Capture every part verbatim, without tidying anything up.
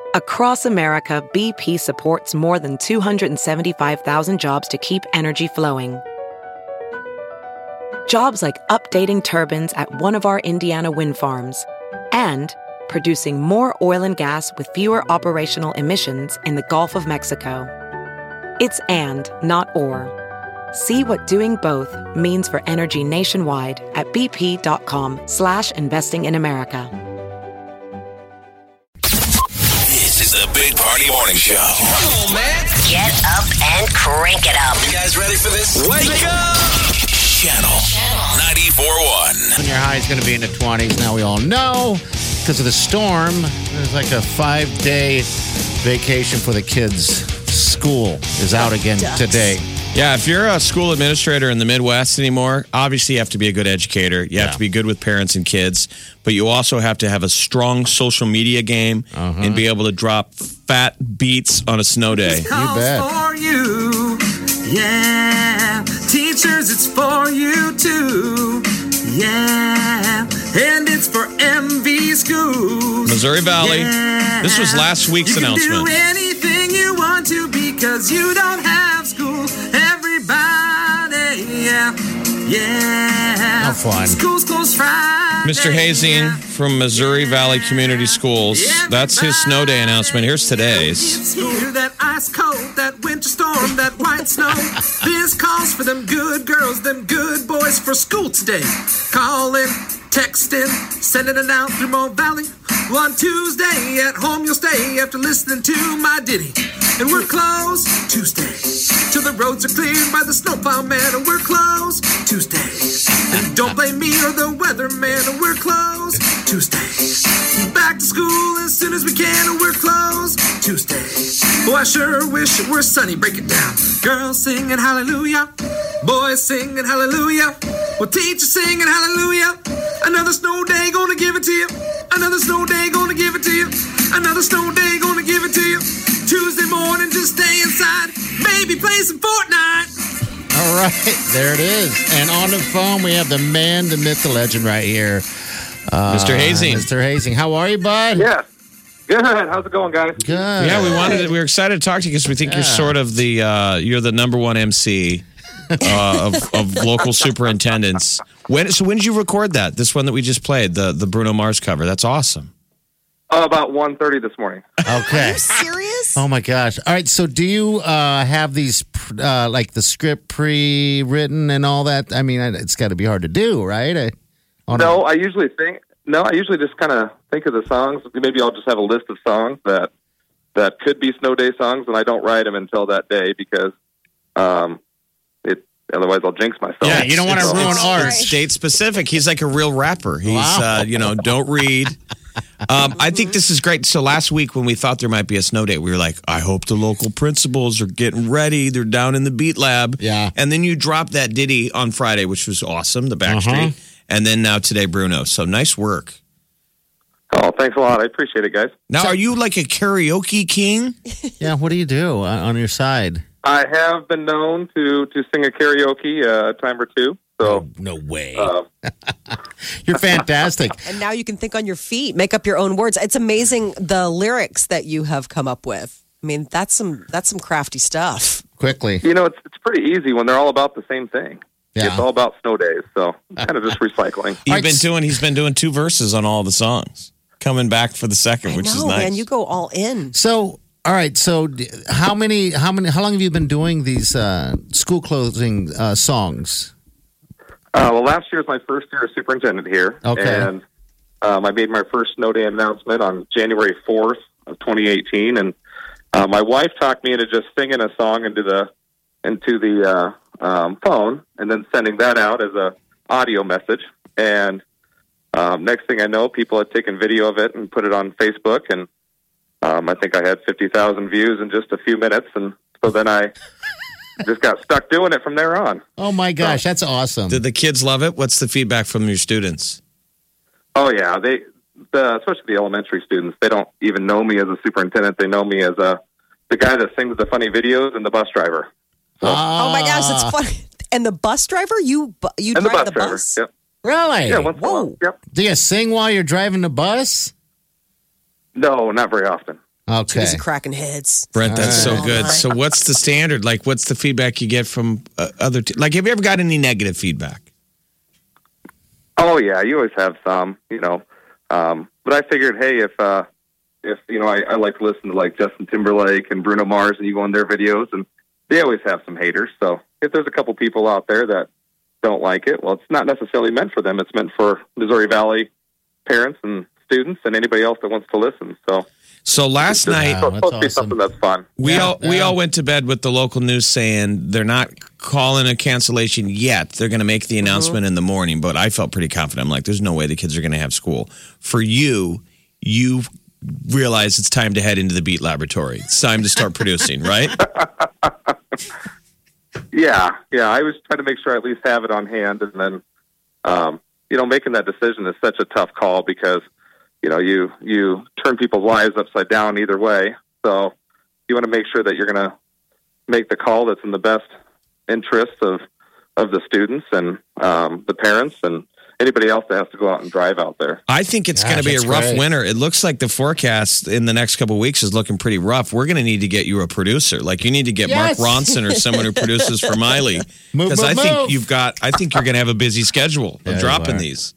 Across America, B P supports more than two hundred seventy-five thousand jobs to keep energy flowing. Jobs like updating turbines at one of our Indiana wind farms and producing more oil and gas with fewer operational emissions in the Gulf of Mexico. It's and, not or. See what doing both means for energy nationwide at bp.com slash investing in America. This is the Big Party Morning Show. Come on, man. Get up and crank it up. You guys ready for this? Wake up! Channel ninety-four point one. Your high is going to be in the twenties. Now we all know because of the storm. There's like a five-day vacation for the kids. School is out again today. Yeah, if you're a school administrator in the Midwest anymore, obviously you have to be a good educator. You have Yeah. to be good with parents and kids, but you also have to have a strong social media game Uh-huh. and be able to drop fat beats on a snow day. You bet. For you, yeah. Teachers, it's for you too, yeah. And it's for M V schools. Missouri Valley. Yeah. This was last week's you announcement. You can do anything you want to because you don't have school. Everybody, yeah, yeah. How fun. School's closed Friday. Mister Hazing yeah. from Missouri Valley Community Schools. That's his snow day announcement. Here's today's. It's here, that ice cold, that winter storm, that white snow. This calls for them good girls, them good boys for school today. Calling, texting, sending it out through Mo Valley. On Tuesday at home you'll stay after listening to my ditty. And we're closed Tuesday till the roads are cleared by the snowplow man. And we're closed Tuesday. And don't blame me or the weatherman. And we're closed Tuesday. Back to school as soon as we can. And we're closed Tuesday. Oh, I sure wish it were sunny. Break it down. Girls singing hallelujah. Boys singing hallelujah. Well, teachers singing hallelujah. Another snow day gonna give it to you. Another snow day gonna give it to you. Another snow day gonna give it to you. Tuesday morning, just stay inside. Maybe play some Fortnite. All right, there it is. And on the phone, we have the man, the myth, the legend right here. Uh, Mister Hazing. Mister Hazing. How are you, bud? Yeah. Good. How's it going, guys? Good. Yeah, we wanted to, we were excited to talk to you because we think Yeah. you're sort of the uh, you're the number one M C uh, of, of local superintendents. When so when did you record that? This one that we just played, the the Bruno Mars cover. That's awesome. Uh, about one thirty this morning. Okay. Serious? Oh, my gosh. All right, so do you uh, have these, uh, like the script pre-written and all that? I mean, it's got to be hard to do, right? I, on No, a- I usually think. No, I usually just kind of think of the songs. Maybe I'll just have a list of songs that that could be snow day songs, and I don't write them until that day because um, it. Otherwise, I'll jinx myself. Yeah, you don't want to So- ruin It's art. state specific. He's like a real rapper. He's Wow. uh, you know, don't read. Um, I think this is great. So last week when we thought there might be a snow day, we were like, I hope the local principals are getting ready. They're down in the beat lab. Yeah. And then you dropped that ditty on Friday, which was awesome, the Backstreet. Uh-huh. And then now today, Bruno. So nice work. Oh, thanks a lot. I appreciate it, guys. Now, are you like a karaoke king? Yeah, what do you do on, on your side? I have been known to to sing a karaoke uh, a time or two. So No way. uh, You're fantastic. And now you can think on your feet, make up your own words. It's amazing the lyrics that you have come up with. I mean, that's some that's some crafty stuff. Quickly. you know, it's it's pretty easy when they're all about the same thing. Yeah. It's all about snow days, so kind of just recycling. You've Right. been doing. He's been doing two verses on all the songs, coming back for the second, which I is know, nice. man. You go all in. So, all right. So, d- how many? How many? How long have you been doing these uh, school closing uh, songs? Uh, well, last year was my first year as superintendent here. Okay. And um, I made my first snow day announcement on January fourth of twenty eighteen. And uh, my wife talked me into just singing a song into the into the uh, um, phone and then sending that out as a audio message. And um, next thing I know, people had taken video of it and put it on Facebook. And um, I think I had fifty thousand views in just a few minutes. And so then I just got stuck doing it from there on. Oh my gosh, that's awesome. Did the kids love it? What's the feedback from your students? Oh yeah, they, the, especially the elementary students, they don't even know me as a superintendent. They know me as a the guy that sings the funny videos and the bus driver. So, Oh my gosh, it's funny. And the bus driver, you bu- you and the drive bus the driver. bus? Yep. Really? Yeah. Once in a Whoa. while. Yep. Do you sing while you're driving the bus? No, not very often. Too busy Okay. cracking heads. Brent, that's so All good. right. So, what's the standard? Like, what's the feedback you get from uh, other? T- like, have you ever got any negative feedback? Oh yeah, you always have some, you know. Um, but I figured, hey, if uh, if you know, I, I like to listen to like Justin Timberlake and Bruno Mars, and you go on their videos, and they always have some haters. So if there's a couple people out there that don't like it, well, it's not necessarily meant for them. It's meant for Missouri Valley parents and students and anybody else that wants to listen. So So last night, it's supposed to be awesome. something that's fun. we Yeah, all we yeah. all went to bed with the local news saying they're not calling a cancellation yet. They're going to make the announcement in the morning. But I felt pretty confident. I'm like, there's no way the kids are going to have school. For you, you realize it's time to head into the Beat Laboratory. It's time to start producing, right? Yeah, yeah. I was trying to make sure I at least have it on hand, and then, um, you know, making that decision is such a tough call because, you know, you you turn people's lives upside down either way. So you want to make sure that you're going to make the call that's in the best interest of of the students and um, the parents and anybody else that has to go out and drive out there. I think it's Gosh, going to be a that's rough great. winter. It looks like the forecast in the next couple of weeks is looking pretty rough. We're going to need to get you a producer. Like you need to get Yes. Mark Ronson or someone who produces for Miley. Move, Because I move, think move. you've got. I think you're going to have a busy schedule of Yeah, you dropping are. these.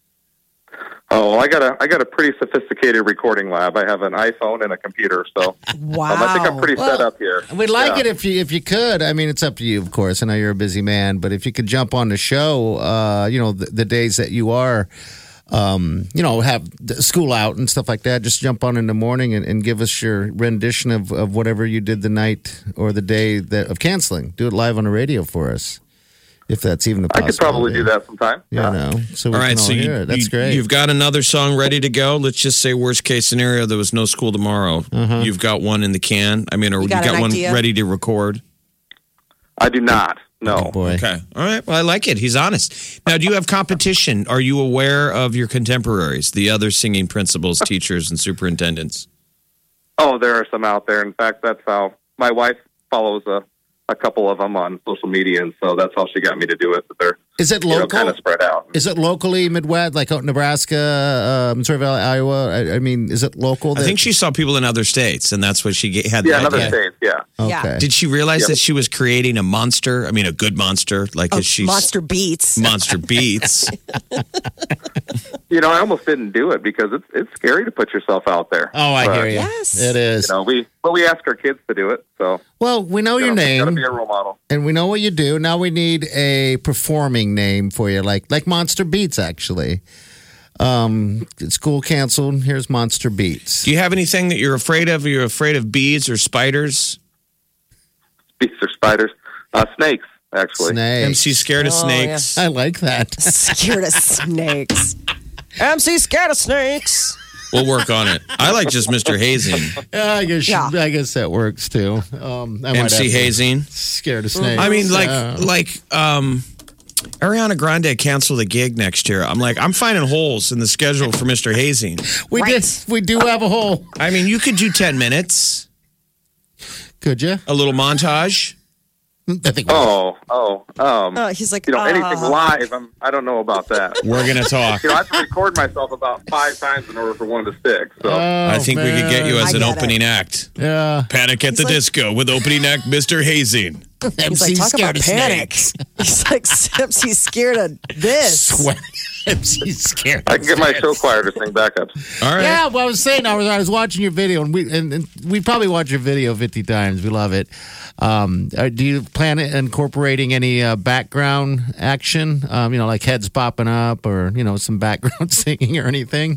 Oh, I got a I got a pretty sophisticated recording lab. I have an iPhone and a computer, so Wow. um, I think I'm pretty set Well, up here. We'd like Yeah. it if you if you could. I mean, it's up to you, of course. I know you're a busy man, but if you could jump on the show, uh, you know, the, the days that you are, um, you know, have the school out and stuff like that, just jump on in the morning and, and give us your rendition of, of whatever you did the night or the day that of canceling. Do it live on the radio for us, if that's even a I possibility. could probably do that sometime. You know, so we All right, can all so you, hear it. That's you, great. you've got another song ready to go. Let's just say worst case scenario, there was no school tomorrow. You've got one in the can. I mean, or you got got, an one idea? ready to record. I do not. No. Oh, boy. Okay. All right. Well, I like it. He's honest. Now, do you have competition? Are you aware of your contemporaries, the other singing principals, teachers, and superintendents? Oh, there are some out there. In fact, that's how my wife follows a, a couple of them on social media, and so that's how she got me to do it. But they're Is it you know, local? kind of spread out. Is it locally Midwest, like out Nebraska, uh, Missouri Valley, Iowa? I, I mean, is it local? I think she saw people in other states, and that's what she ge- had. Yeah, the another idea. state. Yeah. Okay. Yeah. Did she realize Yep. that she was creating a monster? I mean, a good monster, like Oh, as she's Monster Beats. monster beats. You know, I almost didn't do it because it's it's scary to put yourself out there. Oh, I But, hear you. Yes. It is. You know, we but we ask our kids to do it, so Well, we know you your know, Got to name be a role model. and we know what you do. Now we need a performing name for you, like like Monster Beats, actually. Um, school canceled. Here's Monster Beats. Do you have anything that you're afraid of? Are you afraid of bees or spiders? Beasts or spiders, uh, snakes actually. Snakes. M C scared of Oh, snakes. I like that. Scared of snakes. M C scared of snakes. We'll work on it. I like just Mister Hazing. Yeah, I guess. Yeah. I guess that works too. Um, I might M C have to- Hazing. Scared of snakes. I mean, like, Uh, like, um, Ariana Grande canceled the gig next year. I'm like, I'm finding holes in the schedule for Mister Hazing. we Right. did. We do have a hole. I mean, you could do ten minutes, Could you? a little montage. I think. Oh, oh, um, Uh, he's like, you know, anything uh, live. I'm, I don't know about that. We're going to talk. You know, I have to record myself about five times in order for one to stick. So Oh, I think we could get you man. as I an get opening act. Yeah. Panic at the like- Disco with opening act Mister Hazing. He's like, talk about panic. He's like, M C scared of this. Sweat. M C scared. I can get my show choir to sing backups. All right. Yeah, well, I was saying, I was, I was watching your video, and we and, and we probably watch your video fifty times. We love it. Um, uh, do you plan on incorporating any uh, background action? Um, you know, like heads popping up, or you know, some background singing or anything?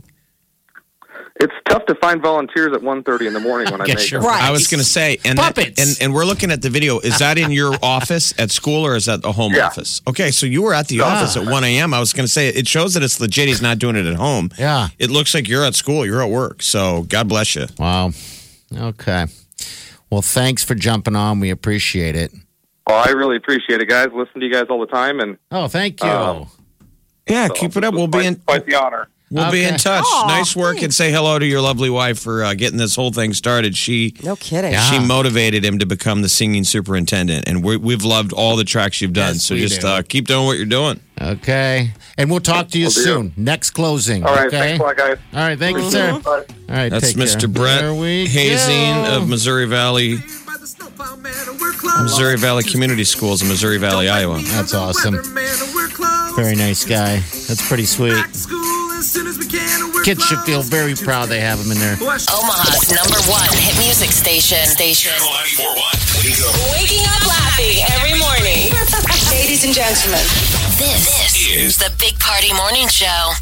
It's tough to find volunteers at one thirty in the morning when I Guess make you're it. Right. I was going to say, and, that- Puppets. and and we're looking at the video. Is that in your office at school or is that the home Yeah. office? Okay, so you were at the office at one a.m. I was going to say, it shows that it's legit. He's not doing it at home. Yeah. It looks like you're at school. You're at work. So God bless you. Wow. Okay. Well, thanks for jumping on. We appreciate it. Well, I really appreciate it, guys. Listen to you guys all the time, and Oh, thank you. Um, Yeah, so keep it up. this We'll was be quite, in. quite the honor. We'll be in Okay. touch. Aw, nice work, and say hello to your lovely wife for uh, getting this whole thing started. She No kidding. Yeah. she motivated him to become the singing superintendent, and we, we've loved all the tracks you've done. Yes, so we just do. uh, keep doing what you're doing. Okay. And we'll talk to you Will do. soon. Next closing. All right, okay? thanks a lot, guys. All right, thank you, sir. Bye. All right, That's take Mister care. Brett There we Hazing go. of Missouri Valley, By the snowplow man, and we're closed. Missouri Valley Community Schools in Missouri Valley, Iowa. That's awesome. Weatherman, and we're closed. Very nice guy. That's pretty sweet. Back to school as soon as we can, and we're Kids should feel closed. very proud they have him in there. Omaha's number one hit music station. Station. Channel ninety-four point one. Wake up. Waking up laughing every morning. Ladies and gentlemen, this, this is the Big Party Morning Show.